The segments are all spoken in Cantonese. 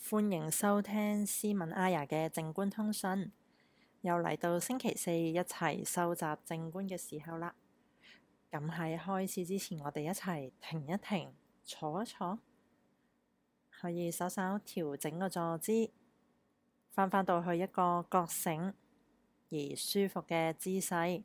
歡迎收聽斯文阿雅嘅靜觀通訊，又嚟到星期四一齊收集靜觀嘅時候啦。咁喺開始之前，我哋一齊停一停，坐一坐，可以稍稍調整個坐姿，返到去一個覺醒而舒服嘅姿勢，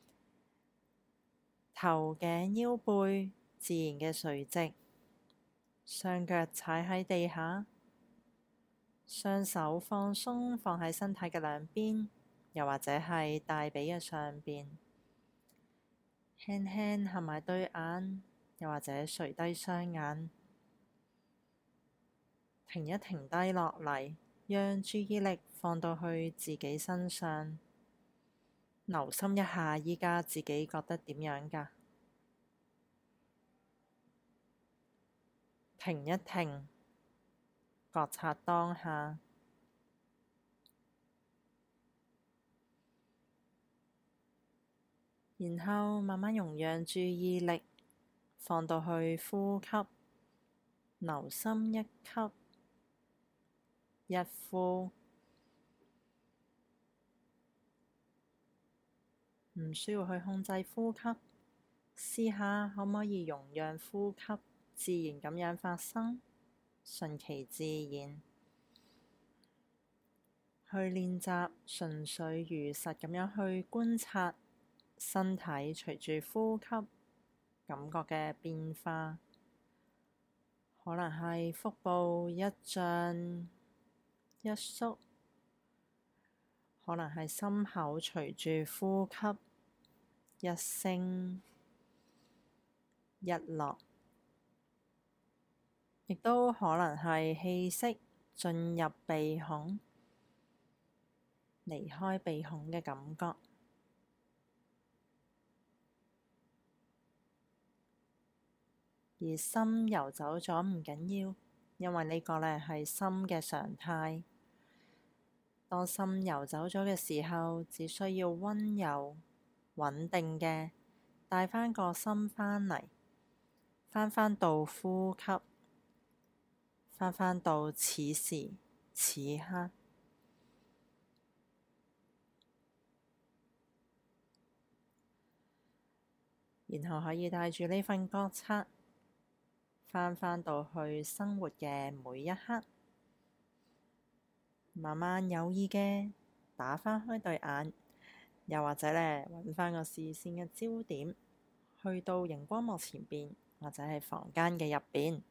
頭頸腰背自然嘅垂直，雙腳踩喺地下，雙手放鬆放喺身體嘅兩邊，又或者係大髀嘅上邊，輕輕合埋對眼，又或者垂低雙眼，停一停低落嚟，讓注意力放到去自己身上，留心一下依家自己覺得點樣㗎？停一停，覺察當下，然後慢慢容讓注意力放到去呼吸，留心一吸一呼，唔需要去控制呼吸，試下可唔可以容讓呼吸自然咁樣發生，順其自然，去練習純粹如實咁樣去觀察身體隨住呼吸感覺嘅變化，可能係腹部一脹一縮，可能係心口隨住呼吸一升一落，亦都可能係氣息進入鼻孔，離開鼻孔嘅感覺。而心游走咗唔緊要，因為呢個呢係心嘅常態。當心游走咗嘅時候，只需要溫柔穩定嘅帶返個心返嚟，返到呼吸，返到此時此刻，然後可以帶住呢份覺察返到去生活嘅每一刻，慢慢有意嘅打返開對眼，又或者呢揾返個視線嘅焦點，去到熒光幕前邊或者係房間嘅入邊。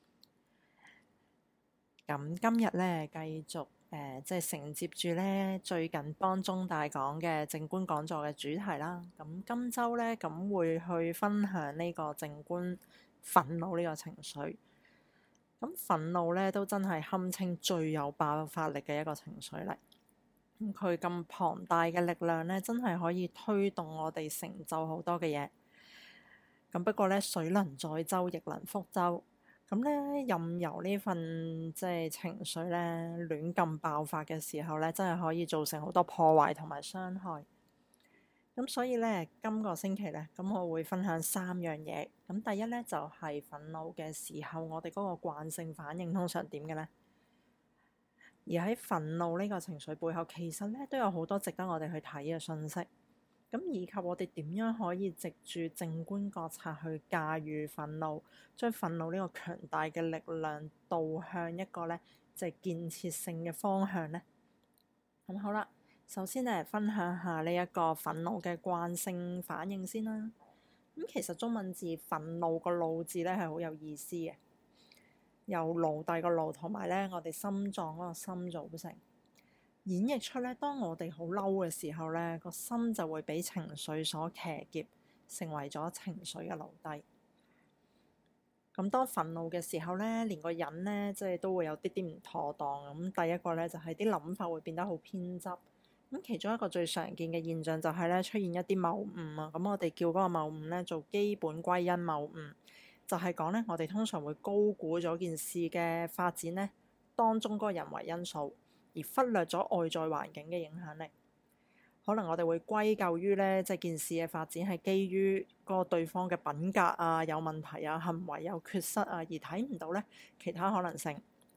咁今日呢，繼續即係承接住呢最近幫中大講嘅靜觀講座嘅主題啦。咁今週呢，咁會去分享呢個靜觀憤怒呢個情緒。咁憤怒呢，都真係堪稱最有爆發力嘅一個情緒嚟。咁佢咁龐大嘅力量呢，真係可以推動我哋成就好多嘅嘢。咁不過呢，水能載舟，亦能覆舟。咁呢，任由呢份即係情緒呢亂咁爆發嘅時候呢，真係可以造成好多破壞同埋傷害。咁所以呢，今個星期呢，咁我會分享3樣嘢。咁第一呢，就係憤怒嘅時候，我哋嗰個慣性反應通常點嘅呢？而喺憤怒呢個情緒背後，其實呢都有好多值得我哋去睇嘅信息。咁以及我哋點樣可以藉住靜觀覺察去駕馭憤怒，將憤怒呢個強大嘅力量導向一個呢，即係建設性嘅方向呢？咁好啦，首先呢，分享下呢一個憤怒嘅慣性反應先啦。咁其實中文字憤怒個怒字呢係好有意思嘅，由奴隸個奴同埋呢我哋心臟嗰個心組成。演繹出呢，當我哋好嬲嘅時候呢，個心就會俾情緒所騎劫，成為咗情緒嘅奴隸。咁當憤怒嘅時候呢，連個人呢，即係都會有啲唔妥當。咁第一個呢，就係啲諗法會變得好偏執。咁其中一個最常見嘅現象就係呢，出現一啲謬誤啊。咁我哋叫嗰個謬誤呢，做基本歸因謬誤，就係講呢，我哋通常會高估咗件事嘅發展呢，當中嗰個人為因素，而忽略咗外在環境嘅影響力。可能我哋會歸咎於呢，即係件事嘅發展係基於嗰個對方嘅品格啊有問題啊，行為有缺失啊，而睇唔到呢其他可能性。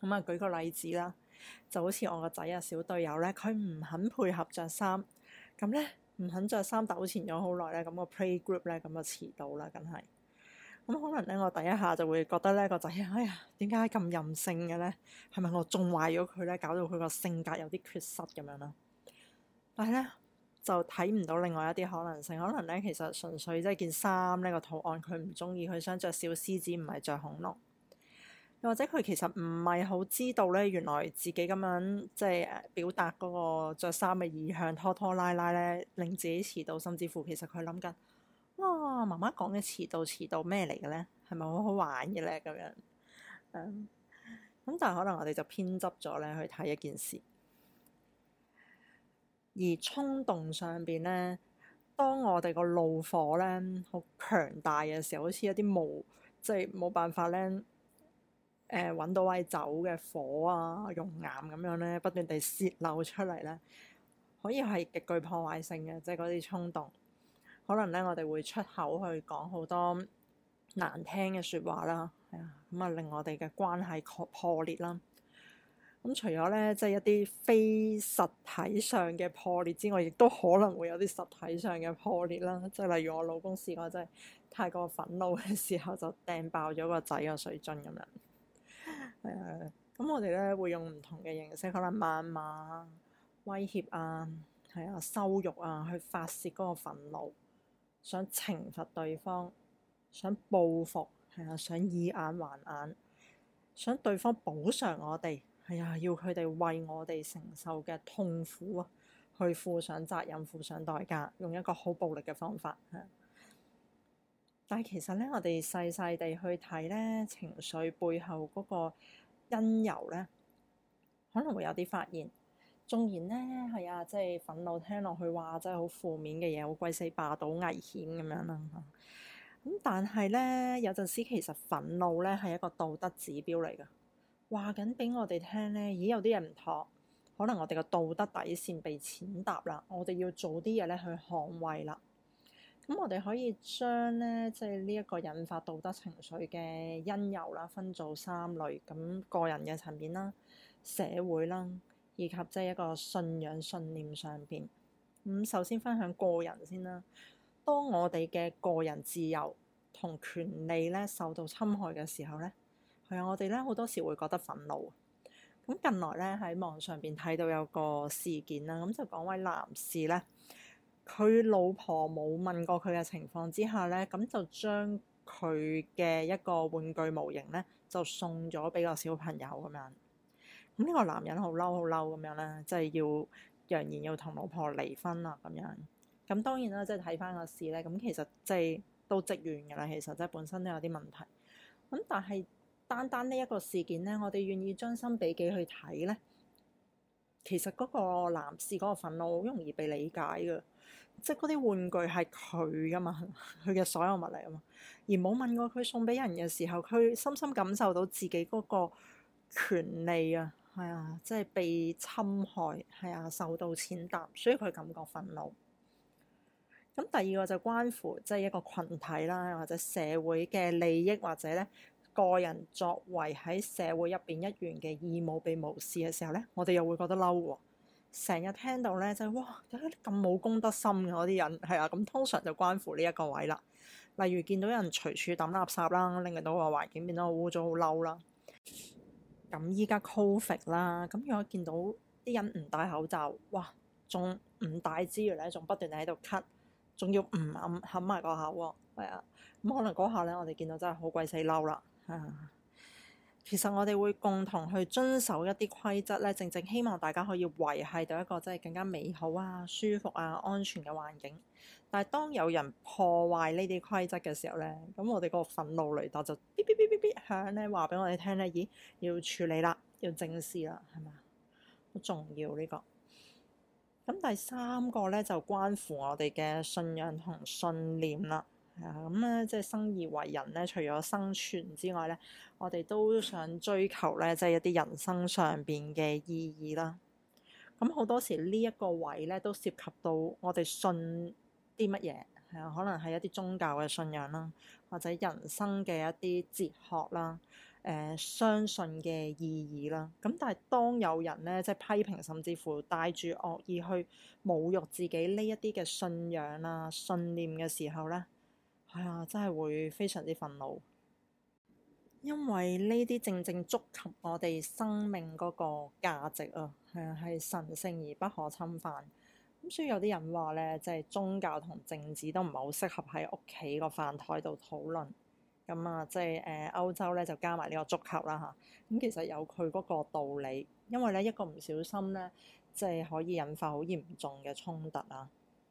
咁啊，舉個例子啦，就好似我個仔啊，小隊友咧，佢唔肯配合着衫，咁咧唔肯着衫糾纏咗好耐咧，咁個 playgroup 咧咁就遲到啦，梗係。咁可能咧，我第一下就會覺得咧個仔，哎呀，點解咁任性嘅咧？係咪我縱壞咗佢咧，搞到佢個性格有啲缺失咁樣啦？但係咧就睇唔到另外一啲可能性，可能咧其實純粹即係件衫呢個圖案佢唔中意，佢想着小獅子唔係着恐龍，又或者佢其實唔係好知道咧，原來自己咁樣即係表達嗰個著衫嘅意向，拖拖拉拉咧，令自己遲到，甚至乎其實佢諗緊，哇，媽媽講嘅遲到咩嚟嘅咧？係咪好好玩嘅咧？咁樣咁但係可能我哋就偏執咗咧去睇一件事。而衝動上邊咧，當我哋個怒火咧好強大嘅時候，好似一啲即係冇辦法咧揾到位走嘅火啊、熔岩咁樣咧，不斷地洩漏出嚟咧，可以係極具破壞性嘅，即係嗰啲衝動。可能咧，我哋會出口去講好多難聽嘅説話啦，係啊，咁啊令我哋嘅關係破裂啦。咁除咗咧，即係一啲非實體上嘅破裂之外，亦都可能會有啲實體上嘅破裂啦。即係例如我老公試過真係太過憤怒嘅時候，就掟爆咗個仔個水樽咁樣。咁我哋咧會用唔同嘅形式，可能謾罵、威脅啊，羞辱啊，去發泄嗰個憤怒，想懲罰對方，想報復，想以眼還眼，想對方補償我哋。要佢哋為我哋承受嘅痛苦啊，去負上責任、負上代價，用一個好暴力嘅方法。但係其實咧，我哋細細地去睇咧，情緒背後嗰個因由咧，可能會有啲發現。縱然咧即係憤怒聽落去話真係好負面嘅嘢，好鬼死霸道、危險咁樣啦。咁但係咧，有陣時其實憤怒咧係一個道德指標嚟㗎。話緊俾我哋聽咧，咦，有啲嘢唔妥，可能我哋個道德底線被踐踏啦，我哋要做啲嘢咧去捍衛啦。咁我哋可以將咧即係呢一個引發道德情緒嘅因由啦，分做3類。咁個人嘅層面啦、社會啦，以及即係一個信仰信念上邊。咁首先分享個人先啦。當我哋嘅個人自由同權利咧受到侵害嘅時候咧，我哋咧好多時會覺得憤怒。咁近來咧喺網上邊睇到有個事件啦，咁就講位男士咧，佢老婆冇問過佢嘅情況之下咧，咁就將佢嘅一個玩具模型咧就送咗俾個小朋友咁樣。咁呢個男人好嬲咁樣咧，即係要揚言要同老婆離婚啦咁樣。咁當然啦，即係睇翻個事咧，咁其實即係都積怨㗎啦。其實即係本身都有啲問題。咁但係單呢一個事件咧，我哋願意將心比己去睇咧，其實嗰個男士嗰個憤怒好容易被理解嘅，即係嗰啲玩具係佢噶嘛，佢嘅所有物嚟啊嘛，而冇問過佢送俾人嘅時候，佢深深感受到自己嗰個權利啊，即係被侵害，受到踐踏，所以佢感覺憤怒。咁第二個就關乎即係一個群體啦，或者社會嘅利益，或者咧，個人作為喺社會入邊一員嘅義務被無視嘅時候咧，我哋又會覺得嬲喎。成日聽到咧就係哇，有啲咁冇公德心嘅嗰啲人，咁通常就關乎呢一個位啦。例如見到有人隨處抌垃圾啦，令到個環境變得好污糟、好嬲啦。咁依家 Covid 啦，咁如果見到啲人唔戴口罩，哇，仲唔戴之餘咧，仲不斷喺度咳，仲要唔冚埋個口喎，咁可能嗰下咧，我哋見到真係好鬼死嬲啦。其實我哋會共同去遵守一啲規則咧，正正希望大家可以維繫到一個即係更加美好啊、舒服啊、安全嘅環境。但係當有人破壞呢啲規則嘅時候咧，咁我哋個憤怒雷達就嗶嗶嗶嗶嗶響咧，話俾我哋聽咧，咦，要處理啦，要正視啦，係咪啊？好重要呢個。咁第3個咧就關乎我哋嘅信仰同信念啦。咁咧即係生而為人咧，除咗生存之外咧，我哋都想追求咧，即係一啲人生上邊嘅意義啦。咁好多時呢一個位咧，都涉及到我哋信啲乜嘢，可能係一啲宗教嘅信仰啦，或者人生嘅一啲哲學啦， 相信嘅意義啦。咁但係當有人咧即係批評，甚至乎帶住惡意去侮辱自己呢一啲嘅信仰啊、信念嘅時候咧，係啊，真係會非常之憤怒，因為呢啲正正觸及我哋生命嗰個價值啊，係啊，係神聖而不可侵犯。咁所以有啲人話咧，即係宗教同政治都唔係好適合喺屋企個飯台度討論。咁啊，即係歐洲咧就加埋呢個足球啦嚇。咁其實有佢嗰個道理，因為咧一個唔小心咧，即係可以引發好嚴重嘅衝突啊。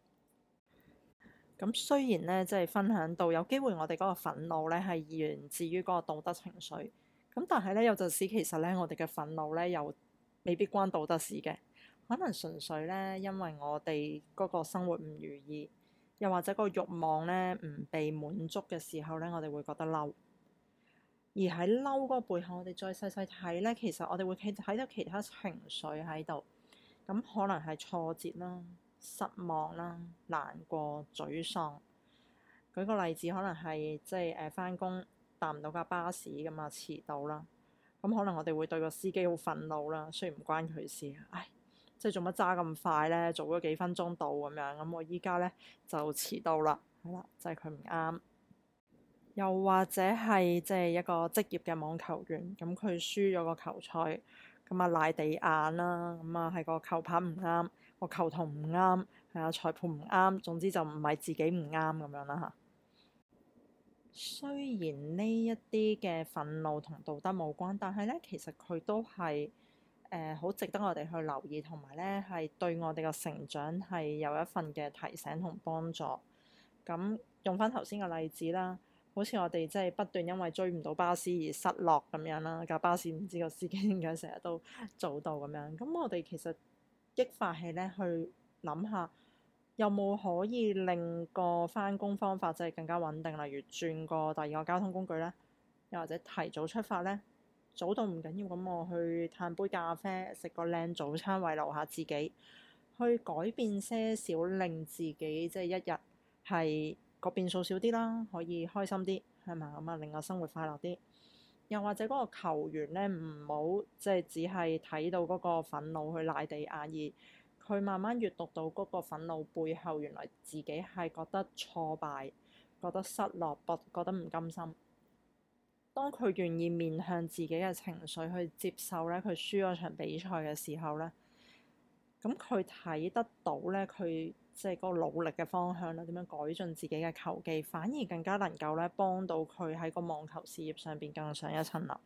咁雖然咧，即係分享到有機會我哋嗰個憤怒咧係源自於嗰個道德情緒，咁但係咧有陣時其實咧我哋嘅憤怒咧又未必關道德事嘅，可能純粹咧因為我哋嗰個生活唔如意。又或者個慾望咧唔被滿足嘅時候咧，我哋會覺得嬲。而喺嬲嗰個背後，我哋再細細睇咧，其實我哋會睇到其他情緒喺度。咁可能係挫折啦、失望啦、難過、沮喪。舉個例子，可能係即係返工搭唔到架巴士咁啊，遲到啦。咁可能我哋會對個司機好憤怒啦，雖然唔關佢事。唉，即係做乜揸咁快咧？早咗幾分鐘到咁樣，咁我依家咧就遲到啦，係啦，就係佢唔啱。又或者係即係一個職業嘅網球員，咁佢輸咗個球賽，咁啊賴地硬啦，咁啊係個球拍唔啱，個球童唔啱，係啊裁判唔啱，總之就唔係自己唔啱咁樣啦嚇。雖然呢一啲嘅憤怒同道德無關，但係咧其實佢都係好值得我哋去留意，同埋咧係對我哋嘅成長係有一份嘅提醒同幫助。咁用翻頭先嘅例子啦，好似我哋即係不斷因為追唔到巴士而失落咁樣啦，架巴士唔知個司機點解成日都早到咁樣。咁我哋其實激發起咧去諗下，有冇可以令個返工方法即係更加穩定，例如轉個第二個交通工具咧，又或者提早出發咧。早到唔緊要，咁我去嘆杯咖啡，食個靚早餐慰勞下自己，去改變些少，令自己即係一日係個變數少啲啦，可以開心啲，係嘛？咁啊，令我生活快樂啲。又或者嗰個球員咧，唔好即係只係睇到嗰個憤怒去賴地硬，而佢慢慢閱讀到嗰個憤怒背後，原來自己係覺得挫敗、覺得失落、覺得唔甘心。當佢願意面向自己嘅情緒去接受咧，佢輸咗場比賽嘅時候咧，咁佢睇得到咧，佢即係嗰個努力嘅方向啦，點樣改進自己嘅球技，反而更加能夠咧幫到佢喺個網球事業上邊更上一層樓。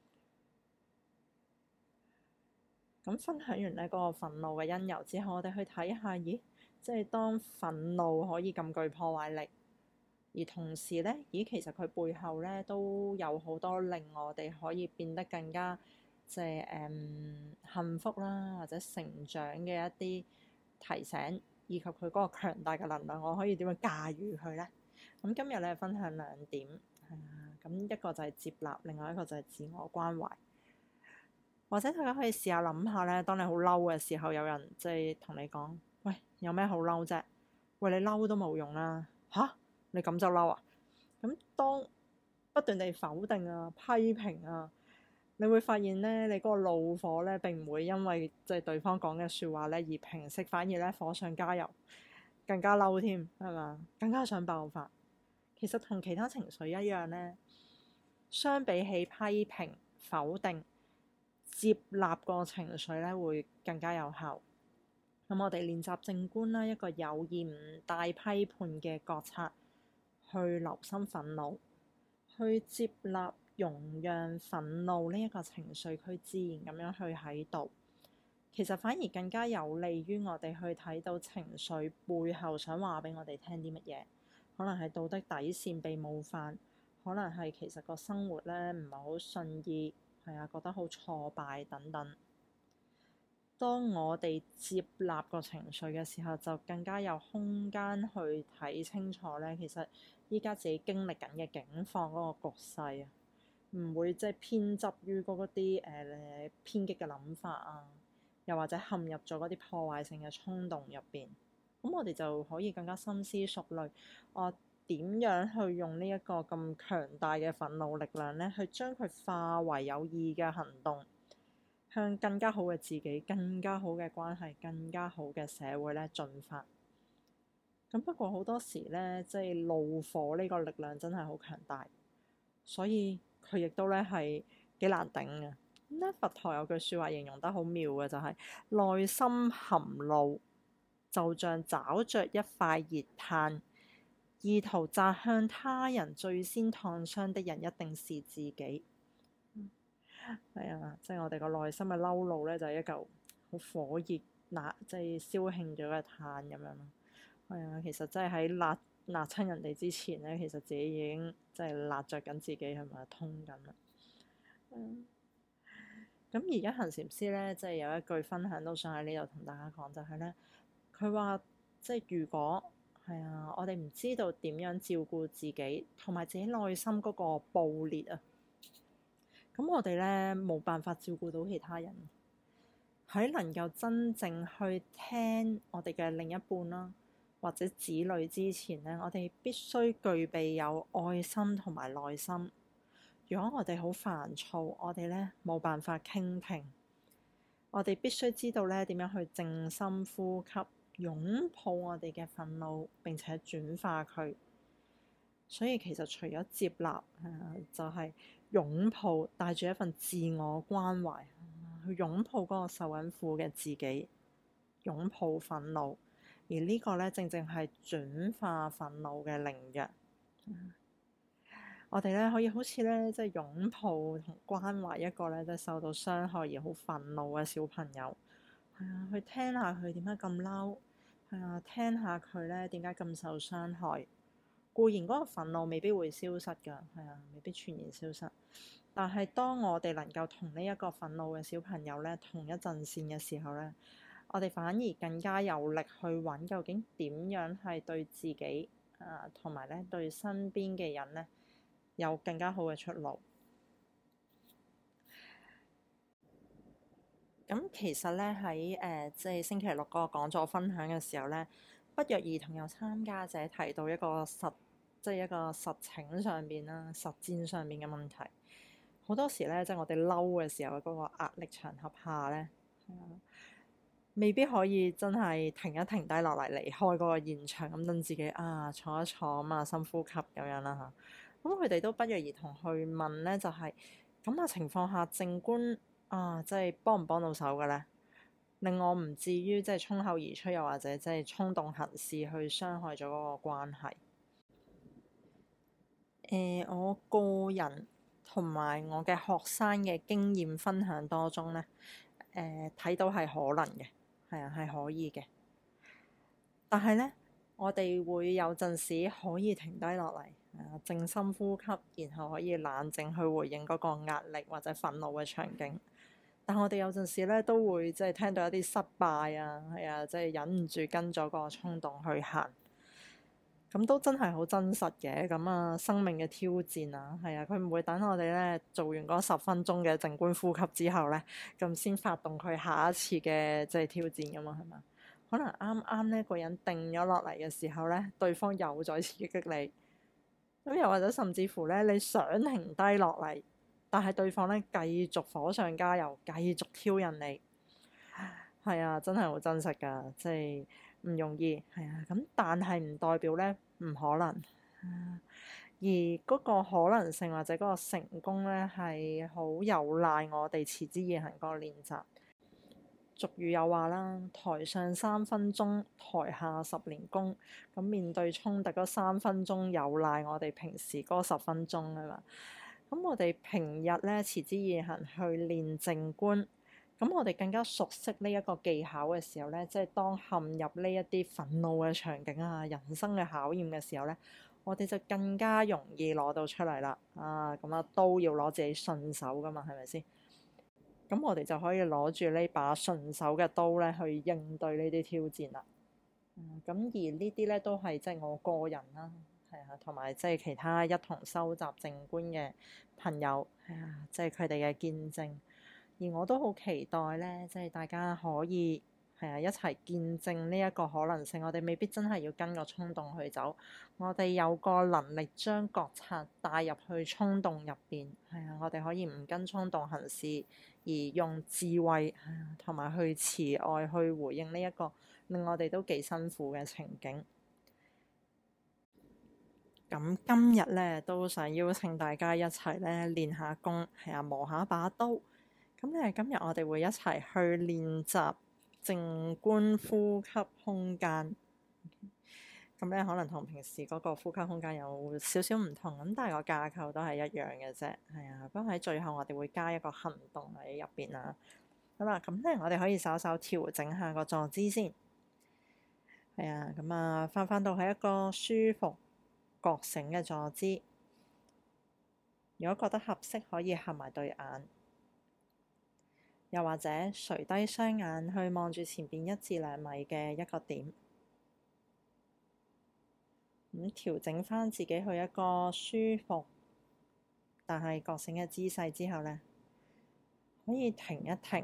咁分享完呢嗰個憤怒嘅因由之後，我哋去睇下，咦，即係當憤怒可以咁具破壞力。而同時咧，咦，其實佢背後咧都有好多令我哋可以變得更加即係幸福啦，或者成長嘅一啲提醒，以及佢嗰個強大嘅能量，我可以點樣駕馭佢咧？咁今日咧分享兩點，咁一個就係接納，另外一個就係自我關懷。或者大家可以試下諗下咧，當你好嬲嘅時候，有人即係同你講：喂，有咩好嬲啫？喂，你嬲都冇用啦，嚇！你咁就嬲啊？咁當不斷地否定啊、批評啊，你會發現咧，你嗰個怒火咧並唔會因為即係對方講嘅説話咧而平息，反而咧火上加油，更加嬲添，係嘛？更加想爆發。其實同其他情緒一樣咧，相比起批評、否定，接納個情緒咧會更加有效。咁我哋練習靜觀啦，一個有意唔帶批判嘅覺察。去留心憤怒，去接納、容讓憤怒呢一個情緒，佢自然咁樣去喺度。其實反而更加有利於我哋去睇到情緒背後想話俾我哋聽啲乜嘢。可能係道德底線被冒犯，可能係其實個生活咧唔係好順意，係啊，覺得好挫敗等等。當我哋接納個情緒嘅時候，就更加有空間去睇清楚咧。其實依家自己經歷緊嘅境況嗰個局勢啊，唔會即係偏執於嗰啲偏激嘅諗法啊，又或者陷入咗嗰啲破壞性嘅衝動入邊。咁我哋就可以更加深思熟慮，我點樣去用呢一個咁強大嘅憤怒力量呢，去將佢化為有意嘅行動，向更加好嘅自己、更加好嘅關係、更加好嘅社會呢進發。咁不過好多時呢，即係怒火呢個力量真係好強大，所以佢亦都呢係幾難頂嘅。咁咧，佛陀有句説話形容得好妙嘅，就係內心含怒，就像找着一塊熱炭，意圖砸向他人，最先燙傷的人一定是自己。係啊，即係我哋個內心嘅嬲怒呢，就係一嚿好火熱即係燒興咗嘅炭咁樣咯。係啊，其實真係喺辣親人哋之前呢，其實自己已經即係辣着緊自己，係咪通緊啦？咁而家行禪師呢，即係有一句分享都想喺呢度同大家講，就係呢：佢話即係如果係啊，我哋唔知道點樣照顧自己同埋自己內心嗰個暴烈啊，咁我哋呢冇辦法照顧到其他人。喺能夠真正去聽我哋嘅另一半啦，或者子女之前呢，我哋必須具備有愛心同埋耐心。如果我哋好煩躁，我哋呢冇辦法傾聽。我哋必須知道呢點樣去靜心呼吸，擁抱我哋嘅憤怒，並且轉化佢。所以其實除咗接納，就係擁抱，帶住一份自我關懷，去擁抱嗰個受緊苦嘅自己，擁抱憤怒。而呢個呢，正正係轉化憤怒嘅靈藥。我哋呢可以好似呢，即係擁抱同關懷一個呢，即係受到傷害而好憤怒嘅小朋友。係啊，去聽下佢點解咁嬲。係啊，聽下佢呢點解咁受傷害。固然嗰個憤怒未必會消失㗎，係啊，未必全然消失。但係當我哋能夠同呢一個憤怒嘅小朋友呢同一陣線嘅時候呢，我哋反而更加有力去揾究竟點樣係對自己同埋呢對身邊嘅人呢有更加好嘅出路。咁其實呢，喺即係星期六嗰個講座分享嘅時候呢，不約而同有參加者提到一個實情上邊啦、實踐上面嘅問題。好多時呢，即係我哋嬲嘅時候嗰個壓力場合下呢，未必可以真係停一停低落嚟離開嗰個現場，咁等自己坐一坐啊，深呼吸咁樣啦嚇。咁佢哋都不約而同去問呢，就係咁嘅情況下，靜觀即係幫唔幫到手嘅呢？令我唔至於即係衝口而出，又或者即係衝動行事去傷害咗嗰個關係。我個人同埋我嘅學生嘅經驗分享當中呢，睇到係可能嘅，係啊，係可以嘅。但係呢，我哋會有陣時可以停低落嚟，靜心呼吸，然後可以冷靜去回應嗰個壓力或者憤怒嘅場景。但我哋有陣時咧都會即係聽到一啲失敗啊，係啊，即係忍唔住跟咗個衝動去行，咁都真係好真實嘅。咁生命嘅挑戰啊，係啊，佢唔會等我哋咧做完嗰10分鐘嘅靜觀呼吸之後咧，咁先發動佢下一次嘅即係挑戰噶嘛，係嘛？可能啱啱呢個人定咗落嚟嘅時候咧，對方又再刺激你，咁又或者甚至乎咧，你想停低落嚟，但係對方咧繼續火上加油，繼續挑釁你，係啊，真係好真實㗎，即係唔容易，係啊。咁但係唔代表咧唔可能，而嗰個可能性或者嗰個成功咧係好有賴我哋持之以恆嗰個練習。俗語有話啦，台上3分鐘，台下10年功。咁面對衝突嗰3分鐘，有賴我哋平時嗰10分鐘啊嘛。咁我哋平日咧持之以恆去練靜觀，咁我哋更加熟悉呢一個技巧嘅時候咧，即係當陷入呢一啲憤怒嘅場景啊、人生嘅考驗嘅時候咧，我哋就更加容易攞到出嚟啦。咁都要攞自己順手噶嘛，係咪先？咁我哋就可以攞住呢把順手嘅刀咧，去應對呢啲挑戰啦。咁而呢啲咧都係即係我個人啦，係啊，同埋即係其他一同收集靜觀嘅朋友，係啊，即係佢哋嘅見證。而我都好期待咧，即係大家可以係啊，一齊見證呢一個可能性。我哋未必真係要跟個衝動去走，我哋有個能力將覺察帶入去衝動入邊。係啊，我哋可以唔跟衝動行事，而用智慧同埋去慈愛去回應呢一個令我哋都幾辛苦嘅情景。咁今日咧都想邀請大家一齊咧練下功，係啊，磨下把刀。咁咧今日我哋會一齊去練習靜觀呼吸空間。咁咧可能同平時嗰個呼吸空間有少少唔同，咁但係個架構都係一樣嘅啫。係啊，不過喺最後我哋會加一個行動喺入邊啦。好啦，咁咧我哋可以稍稍調整下個坐姿先。係啊，咁啊翻到係一個舒服覺醒嘅坐姿，如果覺得合適，可以合埋對眼，又或者垂低雙眼去望住前邊1至2米嘅一個點，咁調整返自己去一個舒服但係覺醒嘅姿勢之後呢，可以停一停，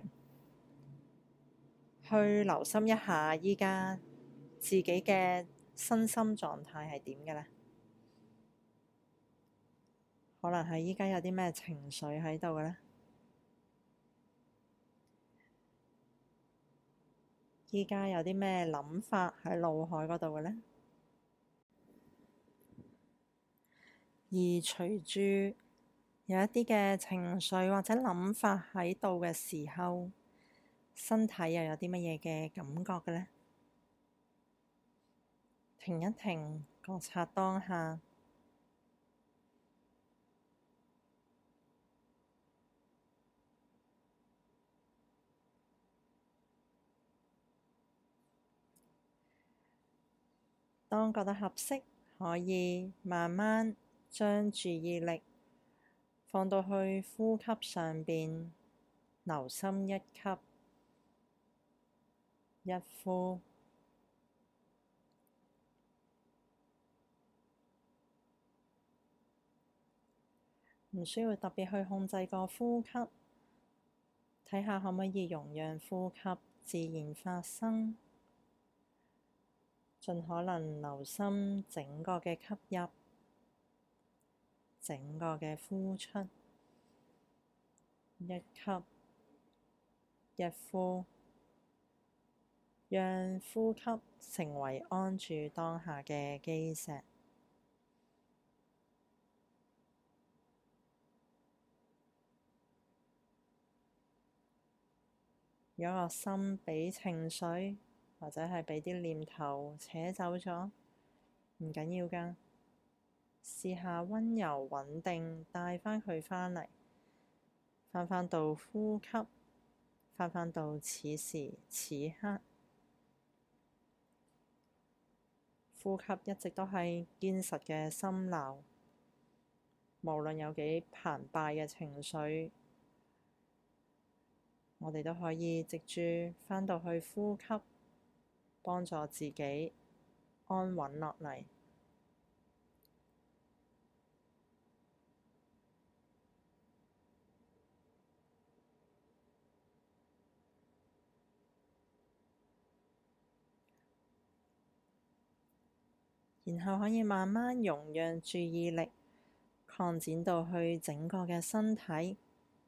去留心一下依家自己嘅身心狀態係點嘅呢？可能係依家有啲咩情緒喺度嘅呢？依家有啲咩諗法喺腦海嗰度嘅呢？而隨住有一啲嘅情緒或者諗法喺度嘅時候，身體又有啲乜嘢嘅感覺嘅呢？停一停，覺察當下。當覺得合適，可以慢慢將注意力放到去呼吸上邊，留心一吸一呼，唔需要特別去控制個呼吸，睇下可唔可以容讓呼吸自然發生。盡可能留心整個嘅吸入，整個嘅呼出，一吸一呼，讓呼吸成為安住當下嘅基石。如果個心俾情緒或者係俾啲念頭扯走咗，唔緊要㗎，試下溫柔穩定帶返佢返嚟，返到呼吸，返到此時此刻，呼吸一直都係堅實嘅心錨，無論有幾澎湃嘅情緒，我哋都可以藉住返到去呼吸，幫助自己安穩落嚟。然後可以慢慢容讓注意力擴展到去整個嘅身體，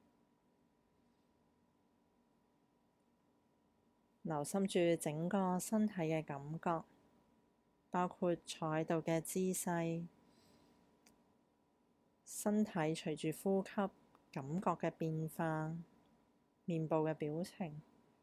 留心住整個身體嘅感覺，包括坐喺度嘅姿勢，身體隨住呼吸感覺嘅變化，面部嘅表情。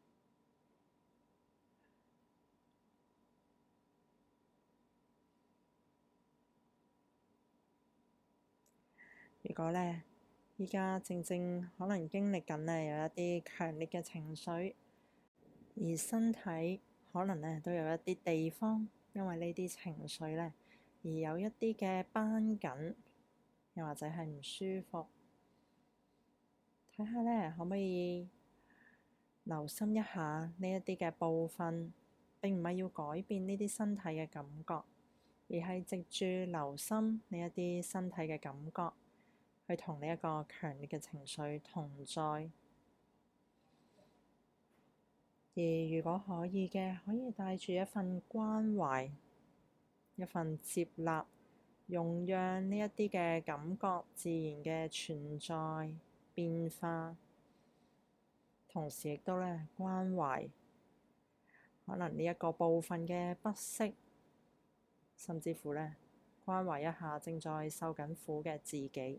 如果呢，而家正可能經歷緊呢有一啲強烈嘅情緒，而身體可能呢都有一啲地方，因為呢啲情緒呢，而有一啲嘅繃緊，又或者係唔舒服。睇下呢，可唔可以留心一下呢一啲嘅部分，並唔係要改變呢啲身體嘅感覺，而係藉住留心呢一啲身體嘅感覺，去同呢一個強烈嘅情緒同在， 而如果可以嘅，可以帶住一份關懷，一份接納，容讓呢一啲嘅感覺自然嘅存在變化，同時亦都咧關懷可能呢一個部分嘅不適，甚至乎咧關懷一下正在受緊苦嘅自己。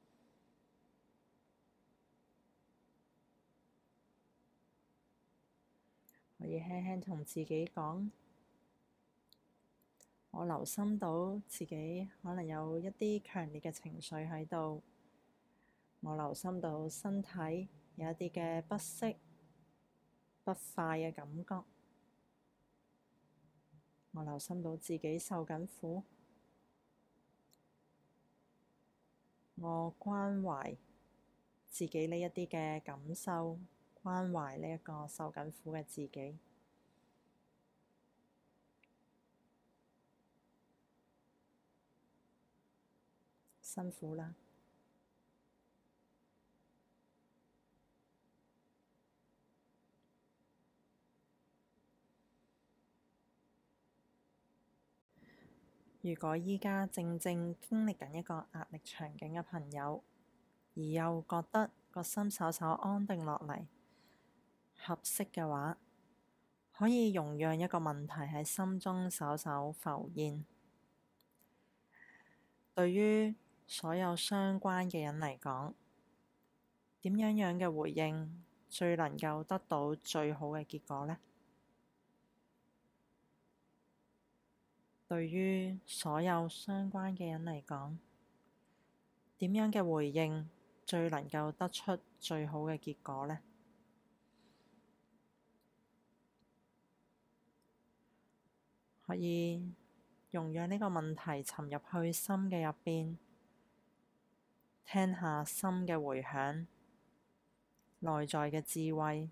可以輕輕同自己講，我留心到自己可能有一啲強烈嘅情緒喺度，我留心到身體有一啲嘅不適、不快嘅感覺，我留心到自己受緊苦，我關懷自己呢一啲嘅感受，關懷呢一個受緊苦嘅自己。辛苦啦！如果而家正正經歷緊一個壓力場景嘅朋友，而又覺得個心稍稍安定落嚟，合適嘅話，可以容讓一個問題喺心中稍稍浮現。對於所有相關嘅人嚟講，點樣嘅回應最能夠得到最好嘅結果呢？對於所有相關嘅人嚟講，點樣嘅回應最能夠得出最好嘅結果呢？可以容讓呢個問題沉入去心嘅入邊，聽下心嘅迴響，內在嘅智慧。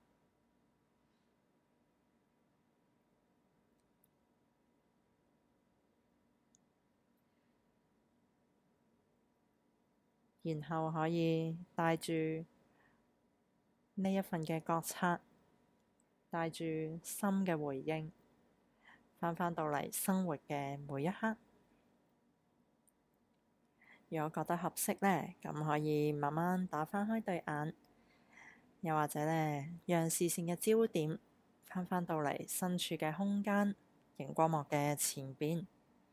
然後可以帶住呢一份嘅覺察，帶住心嘅回應，返到嚟生活嘅每一刻。如果覺得合適呢，咁可以慢慢打返開對眼，又或者呢，讓視線嘅焦點返到嚟身處嘅空間，熒光幕嘅前邊。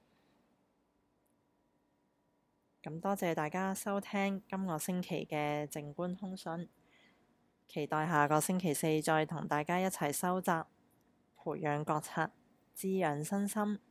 咁多謝大家收聽今個星期嘅靜觀通訊，期待下個星期四再同大家一齊收集，培養覺察，滋養身心。